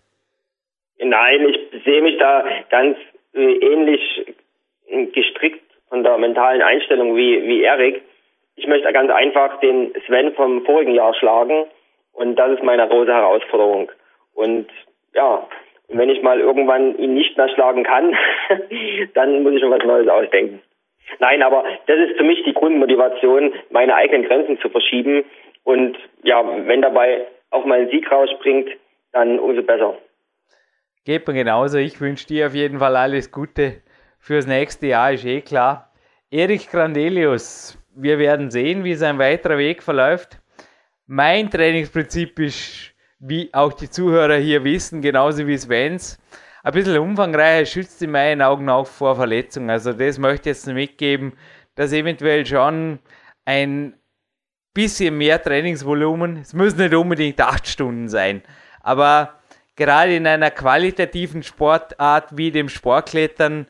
[SPEAKER 3] Nein, ich sehe mich da ganz ähnlich gestrickt von der mentalen Einstellung wie Erik. Ich möchte ganz einfach den Sven vom vorigen Jahr schlagen und das ist meine große Herausforderung. Und ja, wenn ich mal irgendwann ihn nicht mehr schlagen kann, dann muss ich schon was Neues ausdenken. Nein, aber das ist für mich die Grundmotivation, meine eigenen Grenzen zu verschieben. Und ja, wenn dabei auch mal ein Sieg rausspringt, dann umso besser.
[SPEAKER 2] Geht mir genauso. Ich wünsche dir auf jeden Fall alles Gute fürs nächste Jahr, ist eh klar. Erik Grandelius, wir werden sehen, wie sein weiterer Weg verläuft. Mein Trainingsprinzip ist, wie auch die Zuhörer hier wissen, genauso wie Svens, ein bisschen umfangreicher, schützt in meinen Augen auch vor Verletzungen. Also das möchte ich jetzt mitgeben, dass eventuell schon ein bisschen mehr Trainingsvolumen, es müssen nicht unbedingt 8 Stunden sein, aber gerade in einer qualitativen Sportart wie dem Sportklettern,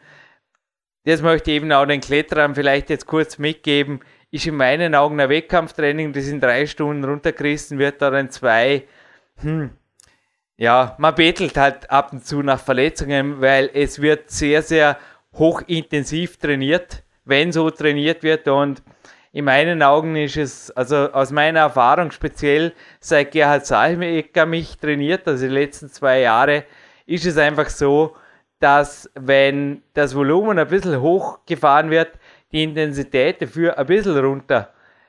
[SPEAKER 2] das möchte ich eben auch den Kletterern vielleicht jetzt kurz mitgeben, ist in meinen Augen ein Wettkampftraining, das in 3 Stunden runtergerissen wird oder in 2. Ja, man bettelt halt ab und zu nach Verletzungen, weil es wird sehr hochintensiv trainiert, wenn so trainiert wird, und in meinen Augen ist es, also aus meiner Erfahrung speziell seit Gerhard Salmecker mich trainiert, also die letzten 2 Jahre, ist es einfach so, dass wenn das Volumen ein bisschen hochgefahren wird, die Intensität dafür ein bisschen runter,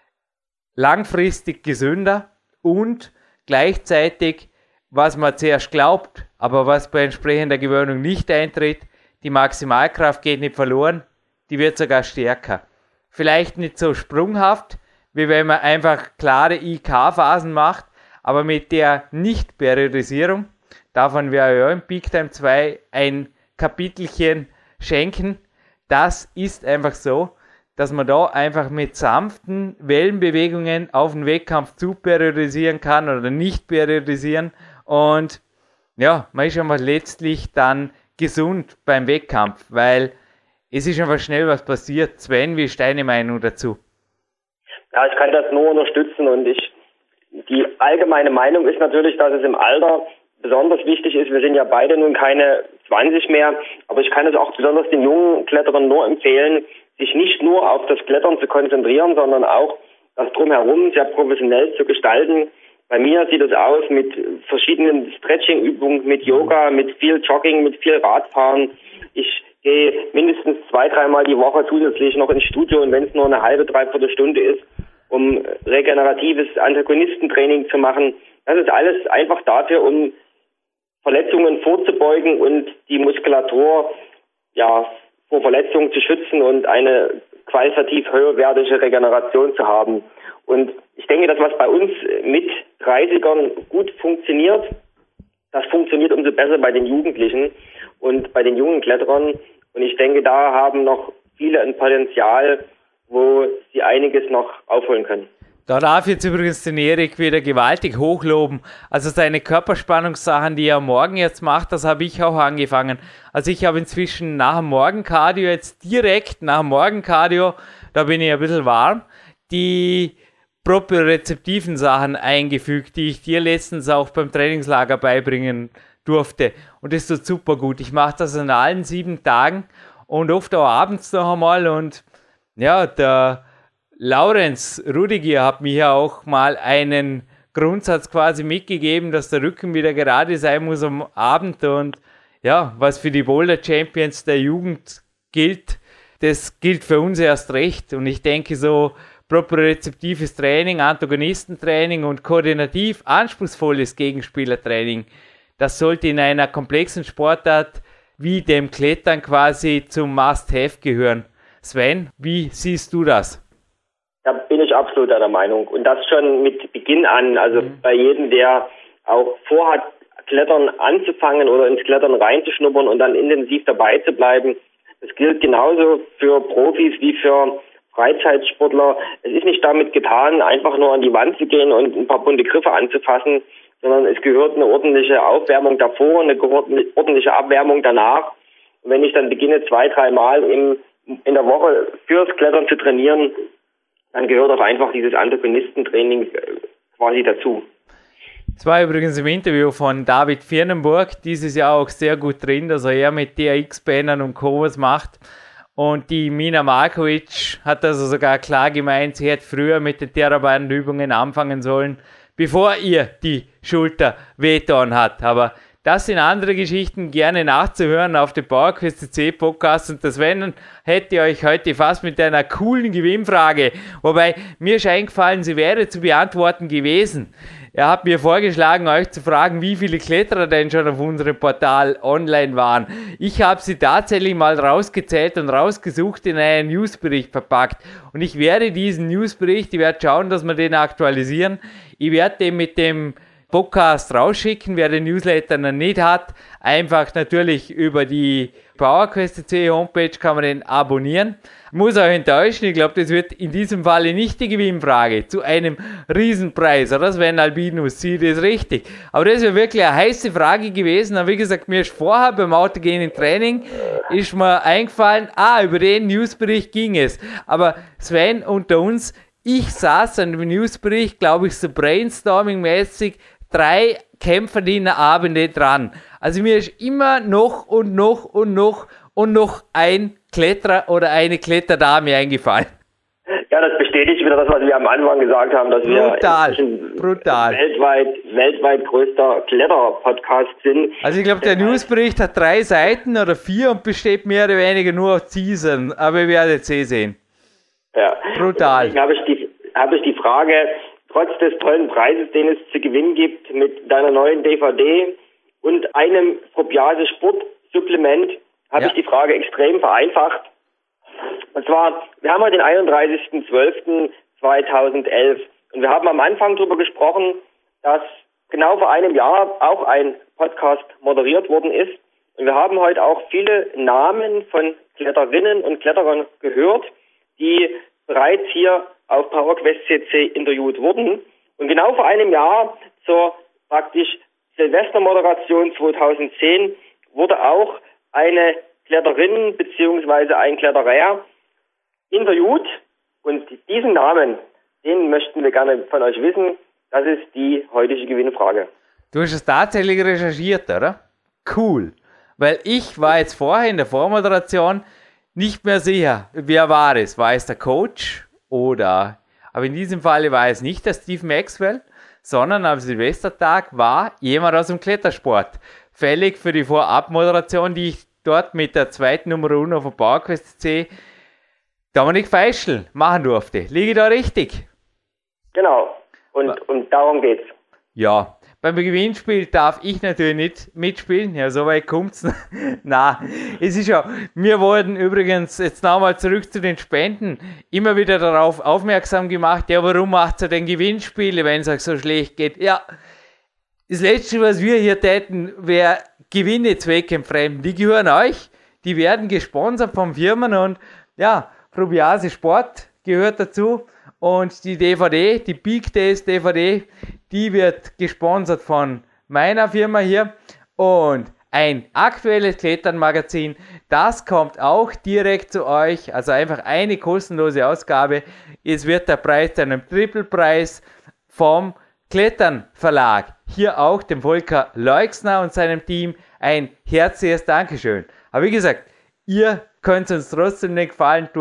[SPEAKER 2] langfristig gesünder und gleichzeitig, was man zuerst glaubt, aber was bei entsprechender Gewöhnung nicht eintritt, die Maximalkraft geht nicht verloren, die wird sogar stärker. Vielleicht nicht so sprunghaft, wie wenn man einfach klare IK-Phasen macht, aber mit der Nicht-Periodisierung, davon wäre ja im Peak Time 2 ein Kapitelchen schenken. Das ist einfach so, dass man da einfach mit sanften Wellenbewegungen auf den Wettkampf zu periodisieren kann oder nicht periodisieren, und ja, man ist einfach letztlich dann gesund beim Wettkampf, weil es ist einfach schnell was passiert. Sven, wie ist deine Meinung dazu?
[SPEAKER 3] Ja, ich kann das nur unterstützen, und die allgemeine Meinung ist natürlich, dass es im Alter besonders wichtig ist. Wir sind ja beide nun keine 20 mehr, aber ich kann es auch besonders den jungen Kletterern nur empfehlen, sich nicht nur auf das Klettern zu konzentrieren, sondern auch das Drumherum sehr professionell zu gestalten. Bei mir sieht es aus mit verschiedenen Stretching-Übungen, mit Yoga, mit viel Jogging, mit viel Radfahren. Ich gehe mindestens 2-3 Mal die Woche zusätzlich noch ins Studio, und wenn es nur eine halbe, 3/4 Stunde ist, um regeneratives Antagonistentraining zu machen. Das ist alles einfach dafür, um Verletzungen vorzubeugen und die Muskulatur vor Verletzungen zu schützen und eine qualitativ höherwertige Regeneration zu haben. Und ich denke, das, was bei uns mit 30ern gut funktioniert, das funktioniert umso besser bei den Jugendlichen und bei den jungen Kletterern. Und ich denke, da haben noch viele ein Potenzial, wo sie einiges noch aufholen können.
[SPEAKER 2] Da darf jetzt übrigens den Erik wieder gewaltig hochloben. Also seine Körperspannungssachen, die er morgen jetzt macht, das habe ich auch angefangen. Also ich habe inzwischen nach dem Morgencardio, jetzt direkt nach dem Morgencardio, da bin ich ein bisschen warm, die propriozeptiven Sachen eingefügt, die ich dir letztens auch beim Trainingslager beibringen durfte. Und das tut super gut. Ich mache das an allen 7 Tagen und oft auch abends noch einmal, und Ja, der Laurenz Rudiger hat mir ja auch mal einen Grundsatz quasi mitgegeben, dass der Rücken wieder gerade sein muss am Abend. Und ja, was für die Boulder Champions der Jugend gilt, das gilt für uns erst recht. Und ich denke, so propriozeptives Training, Antagonistentraining und koordinativ anspruchsvolles Gegenspielertraining, das sollte in einer komplexen Sportart wie dem Klettern quasi zum Must-Have gehören. Sven, wie siehst du das?
[SPEAKER 3] Da bin ich absolut einer Meinung. Und das schon mit Beginn an. Also bei jedem, der auch vorhat, Klettern anzufangen oder ins Klettern reinzuschnuppern und dann intensiv dabei zu bleiben. Das gilt genauso für Profis wie für Freizeitsportler. Es ist nicht damit getan, einfach nur an die Wand zu gehen und ein paar bunte Griffe anzufassen, sondern es gehört eine ordentliche Aufwärmung davor, eine ordentliche Abwärmung danach. Und wenn ich dann beginne, 2-3 Mal in der Woche fürs Klettern zu trainieren, dann gehört auch einfach dieses Antagonistentraining quasi dazu.
[SPEAKER 2] Es war übrigens im Interview von David Viernenburg dieses Jahr auch sehr gut drin, dass er mit DRX-Bannern und Co. was macht. Und die Mina Markovic hat also sogar klar gemeint, sie hätte früher mit den Theraband-Übungen anfangen sollen, bevor ihr die Schulter wehgetan hat. Aber das sind andere Geschichten, gerne nachzuhören auf dem PowerQuest CC Podcast. Und das Sven hätte euch heute fast mit einer coolen Gewinnfrage, wobei mir ist eingefallen, sie wäre zu beantworten gewesen. Er hat mir vorgeschlagen, euch zu fragen, wie viele Kletterer denn schon auf unserem Portal online waren. Ich habe sie tatsächlich mal rausgezählt und rausgesucht, in einen Newsbericht verpackt. Und ich werde diesen Newsbericht, ich werde schauen, dass wir den aktualisieren. Ich werde den mit dem Podcast rausschicken, wer den Newsletter noch nicht hat. Einfach natürlich über die PowerQuest.de Homepage kann man den abonnieren. Ich muss euch enttäuschen, ich glaube, das wird in diesem Falle nicht die Gewinnfrage zu einem Riesenpreis, oder Sven Albinus, sieht das richtig. Aber das wäre wirklich eine heiße Frage gewesen. Und wie gesagt, mir ist vorher beim autogenen Training ist mir eingefallen, über den Newsbericht ging es. Aber Sven, unter uns, ich saß an dem Newsbericht, glaube ich, so brainstorming-mäßig 3 Kämpferdienerabende dran. Also mir ist immer noch ein Kletterer oder eine Kletterdame eingefallen.
[SPEAKER 3] Ja, das bestätigt wieder das, was wir am Anfang gesagt haben, dass wir
[SPEAKER 2] brutal.
[SPEAKER 3] weltweit größter Kletter-Podcast sind.
[SPEAKER 2] Also ich glaube, der Newsbericht hat 3 Seiten oder 4 und besteht mehr oder weniger nur aus Teasern, aber ihr werdet es sehen.
[SPEAKER 3] Ja.
[SPEAKER 2] Brutal.
[SPEAKER 3] Deswegen habe ich die Frage, trotz des tollen Preises, den es zu gewinnen gibt, mit deiner neuen DVD und einem Propiase Sportsupplement, habe ich die Frage extrem vereinfacht. Und zwar, wir haben heute den 31.12.2011 und wir haben am Anfang darüber gesprochen, dass genau vor einem Jahr auch ein Podcast moderiert worden ist. Und wir haben heute auch viele Namen von Kletterinnen und Kletterern gehört, die bereits hier auf PowerQuest CC interviewt wurden. Und genau vor einem Jahr zur praktisch Silvestermoderation 2010 wurde auch eine Kletterin bzw. ein Kletterer interviewt. Und diesen Namen, den möchten wir gerne von euch wissen. Das ist die heutige Gewinnfrage.
[SPEAKER 2] Du hast es tatsächlich recherchiert, oder? Cool. Weil ich war jetzt vorher in der Vormoderation nicht mehr sicher, wer war es? War es der Coach oder... Aber in diesem Fall war es nicht der Steve Maxwell, sondern am Silvestertag war jemand aus dem Klettersport. Fällig für die Vorabmoderation, die ich dort mit der zweiten Nummer 1 auf der PowerQuest C Dominik Feischl machen durfte. Liege ich da richtig?
[SPEAKER 3] Genau. Und darum geht's.
[SPEAKER 2] Ja. Beim Gewinnspiel darf ich natürlich nicht mitspielen. Ja, so weit kommt's. Na, es ist ja, wir wurden übrigens, jetzt nochmal zurück zu den Spenden, immer wieder darauf aufmerksam gemacht, ja, warum macht ihr denn Gewinnspiele, wenn es euch so schlecht geht? Ja, das Letzte, was wir hier täten, wäre Gewinne zweckentfremden. Die gehören euch, die werden gesponsert von Firmen und ja, Propiase Sport gehört dazu und die DVD, die Peak Days DVD, die wird gesponsert von meiner Firma hier und ein aktuelles Klettern-Magazin, das kommt auch direkt zu euch, also einfach eine kostenlose Ausgabe. Es wird der Preis zu einem Trippelpreis vom Klettern Verlag. Hier auch dem Volker Leixner und seinem Team ein herzliches Dankeschön. Aber wie gesagt, ihr könnt uns trotzdem den Gefallen tun,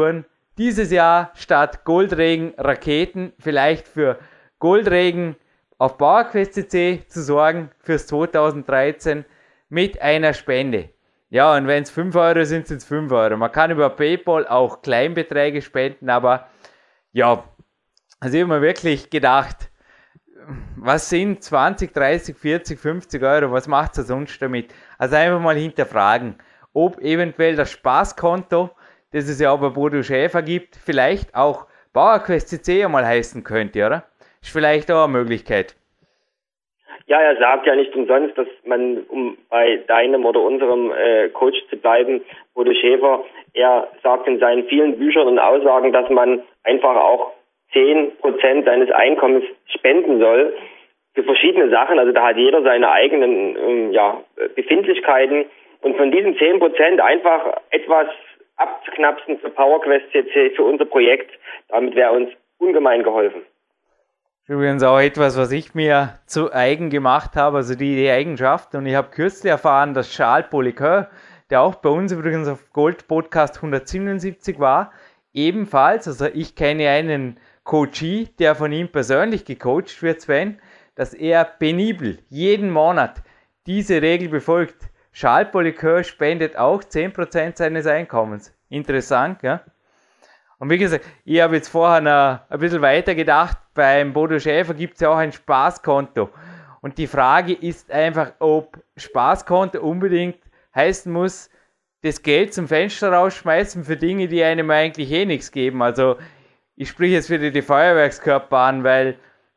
[SPEAKER 2] dieses Jahr statt Goldregen Raketen vielleicht für Goldregen auf PowerQuest CC zu sorgen fürs 2013 mit einer Spende. Ja, und wenn es 5 Euro sind, sind es 5 Euro. Man kann über PayPal auch Kleinbeträge spenden, aber ja, also ich habe mir wirklich gedacht, was sind 20, 30, 40, 50 Euro, was macht ihr sonst damit? Also einfach mal hinterfragen, ob eventuell das Spaßkonto, das es ja auch bei Bodo Schäfer gibt, vielleicht auch PowerQuest CC einmal heißen könnte, oder? Ist vielleicht auch eine Möglichkeit.
[SPEAKER 3] Ja, er sagt ja nicht umsonst, dass man, um bei deinem oder unserem Coach zu bleiben, Bodo Schäfer, er sagt in seinen vielen Büchern und Aussagen, dass man einfach auch 10% seines Einkommens spenden soll für verschiedene Sachen. Also da hat jeder seine eigenen Befindlichkeiten. Und von diesen 10% einfach etwas abzuknapsen für PowerQuest CC, für unser Projekt, damit wäre uns ungemein geholfen.
[SPEAKER 2] Übrigens auch etwas, was ich mir zu eigen gemacht habe, also die Eigenschaft. Und ich habe kürzlich erfahren, dass Charles Poliqueur, der auch bei uns übrigens auf Gold Podcast 177 war, ebenfalls, also ich kenne einen Coachee, der von ihm persönlich gecoacht wird, Sven, dass er penibel jeden Monat diese Regel befolgt. Charles Poliqueur spendet auch 10% seines Einkommens. Interessant, ja? Und wie gesagt, ich habe jetzt vorher noch ein bisschen weiter gedacht, beim Bodo Schäfer gibt es ja auch ein Spaßkonto. Und die Frage ist einfach, ob Spaßkonto unbedingt heißen muss, das Geld zum Fenster rausschmeißen für Dinge, die einem eigentlich eh nichts geben. Also ich spreche jetzt wieder die Feuerwerkskörper an, weil,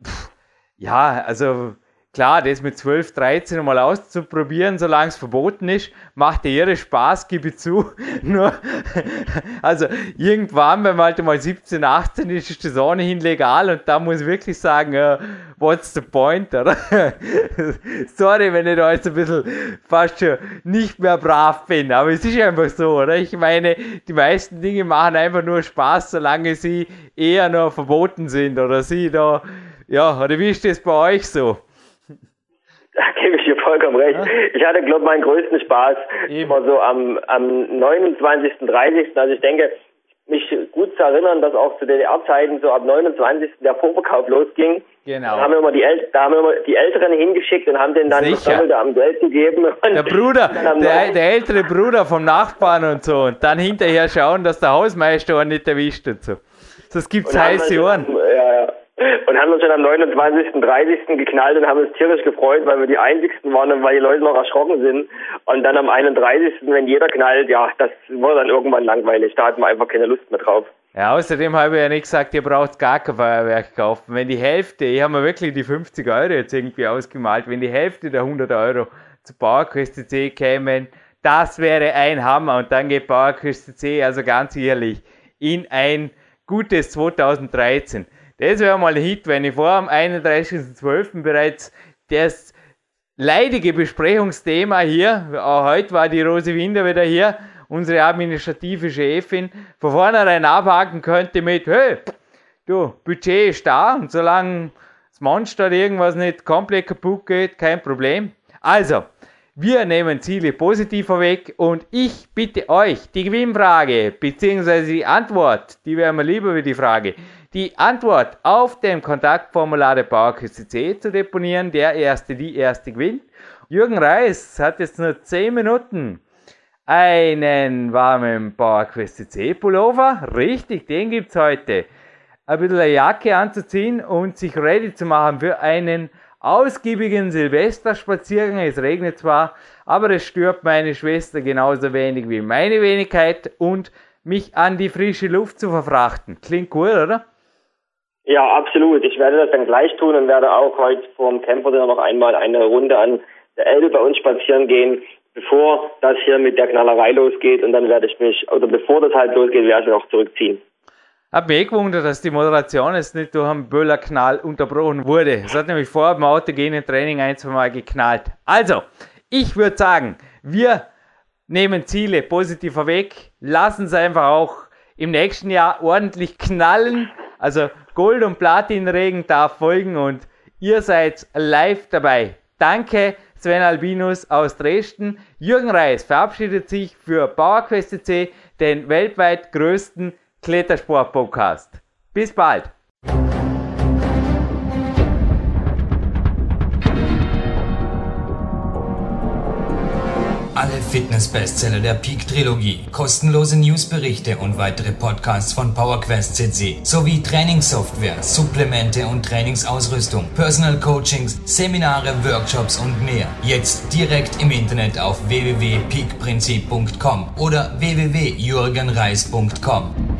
[SPEAKER 2] also klar, das mit 12, 13 mal auszuprobieren, solange es verboten ist, macht ja ihre Spaß, gebe ich zu. Nur, also irgendwann, wenn man halt mal 17, 18 ist, ist das ohnehin legal und da muss ich wirklich sagen, what's the point, oder? Sorry, wenn ich da jetzt ein bisschen fast schon nicht mehr brav bin, aber es ist einfach so, oder? Ich meine, die meisten Dinge machen einfach nur Spaß, solange sie eher noch verboten sind oder sie da, oder wie ist das bei euch so?
[SPEAKER 3] Da gebe ich dir vollkommen recht. Ja. Ich hatte, glaube ich, meinen größten Spaß immer so am 29., 30. Also ich denke, mich gut zu erinnern, dass auch zu DDR-Zeiten so ab 29. der Vorverkauf losging.
[SPEAKER 2] Genau.
[SPEAKER 3] Da haben wir immer die Älteren hingeschickt und haben denen dann das Doppelte am Geld gegeben.
[SPEAKER 2] Der Bruder, der ältere Bruder vom Nachbarn und so. Und dann hinterher schauen, dass der Hausmeister auch nicht erwischt und so. Das gibt's heiße Ohren.
[SPEAKER 3] Ja. Und haben uns schon am 29., 30. geknallt und haben uns tierisch gefreut, weil wir die Einzigsten waren und weil die Leute noch erschrocken sind. Und dann am 31., wenn jeder knallt, das wurde dann irgendwann langweilig. Da hatten wir einfach keine Lust mehr drauf.
[SPEAKER 2] Ja, außerdem habe ich ja nicht gesagt, ihr braucht gar kein Feuerwerk kaufen. Wenn die Hälfte, ich habe mir wirklich die 50 Euro jetzt irgendwie ausgemalt, wenn die Hälfte der 100 Euro zu PowerQuest CC kämen, das wäre ein Hammer. Und dann geht PowerQuest CC, also ganz ehrlich, in ein gutes 2013. Das wäre mal ein Hit, wenn ich vor am 31.12. bereits das leidige Besprechungsthema hier, auch heute war die Rose Winder wieder hier, unsere administrative Chefin, von vornherein abhaken könnte mit, hey, du, Budget ist da und solange das Monster irgendwas nicht komplett kaputt geht, kein Problem. Also, wir nehmen Ziele positiver weg und ich bitte euch, die Gewinnfrage bzw. die Antwort, die wäre mir lieber wie die Frage, die Antwort auf dem Kontaktformular der PowerQuest CC zu deponieren. Die erste gewinnt. Jürgen Reis hat jetzt nur 10 Minuten einen warmen PowerQuest CC Pullover. Richtig, den gibt's heute. Ein bisschen eine Jacke anzuziehen und sich ready zu machen für einen ausgiebigen Silvesterspaziergang. Es regnet zwar, aber es stört meine Schwester genauso wenig wie meine Wenigkeit und mich an die frische Luft zu verfrachten. Klingt gut, oder?
[SPEAKER 3] Ja, absolut. Ich werde das dann gleich tun und werde auch heute vorm Camper noch einmal eine Runde an der Elbe bei uns spazieren gehen, bevor das hier mit der Knallerei losgeht. Und dann werde ich bevor das halt losgeht, werde ich mich auch zurückziehen.
[SPEAKER 2] Hab mich gewundert, dass die Moderation jetzt nicht durch einen Böllerknall unterbrochen wurde. Es hat nämlich vor dem autogenen Training 1-2 Mal geknallt. Also, ich würde sagen, wir nehmen Ziele positiver weg, lassen es einfach auch im nächsten Jahr ordentlich knallen. Also Gold- und Platinregen darf folgen und ihr seid live dabei. Danke Sven Albinus aus Dresden. Jürgen Reis verabschiedet sich für PowerQuest CC, den weltweit größten Klettersport-Podcast. Bis bald!
[SPEAKER 1] Alle Fitness-Bestseller der Peak-Trilogie, kostenlose Newsberichte und weitere Podcasts von PowerQuest CC sowie Trainingssoftware, Supplemente und Trainingsausrüstung, Personal Coachings, Seminare, Workshops und mehr. Jetzt direkt im Internet auf www.peakprinzip.com oder www.jürgenreis.com.